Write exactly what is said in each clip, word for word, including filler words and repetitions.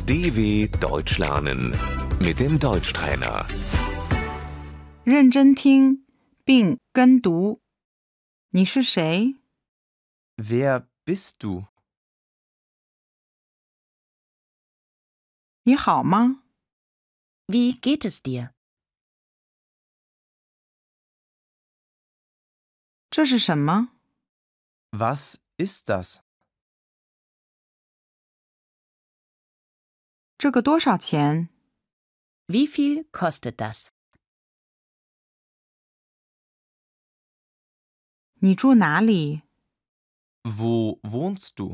D W Deutsch lernen mit dem Deutschtrainer. 认真听并跟读。你是谁？ Wer bist du? 你好吗？ Wie geht es dir? 这是什么？ Was ist das? 这个多少钱？ Wie viel kostet das? 你住哪里？ Wo wohnst du?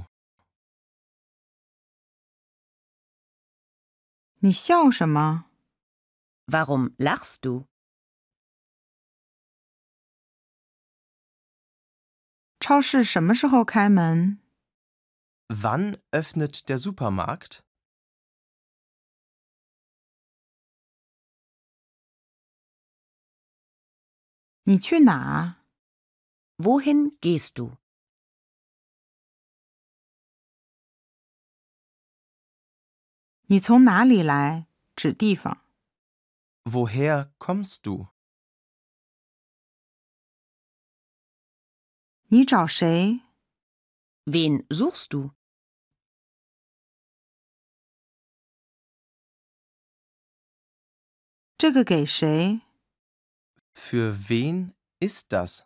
你笑什么？ Warum lachst du? 超市什么时候开门？ Wann öffnet der Supermarkt? 你去哪？ Wohin gehst du? 你从哪里来？指地方。 Woher kommst du? 你找谁？ Wen suchst du? 这个给谁？ Für wen ist das?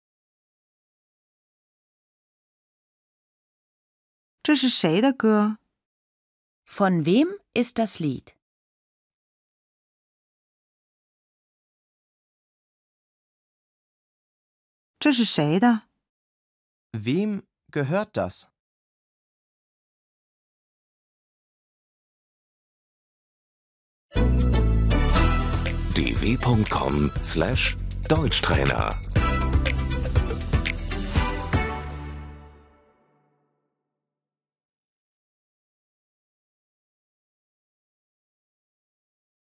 这是谁的歌？ Von wem ist das Lied? 这是谁的？ Wem gehört das? d w punkt com slash Deutschtrainer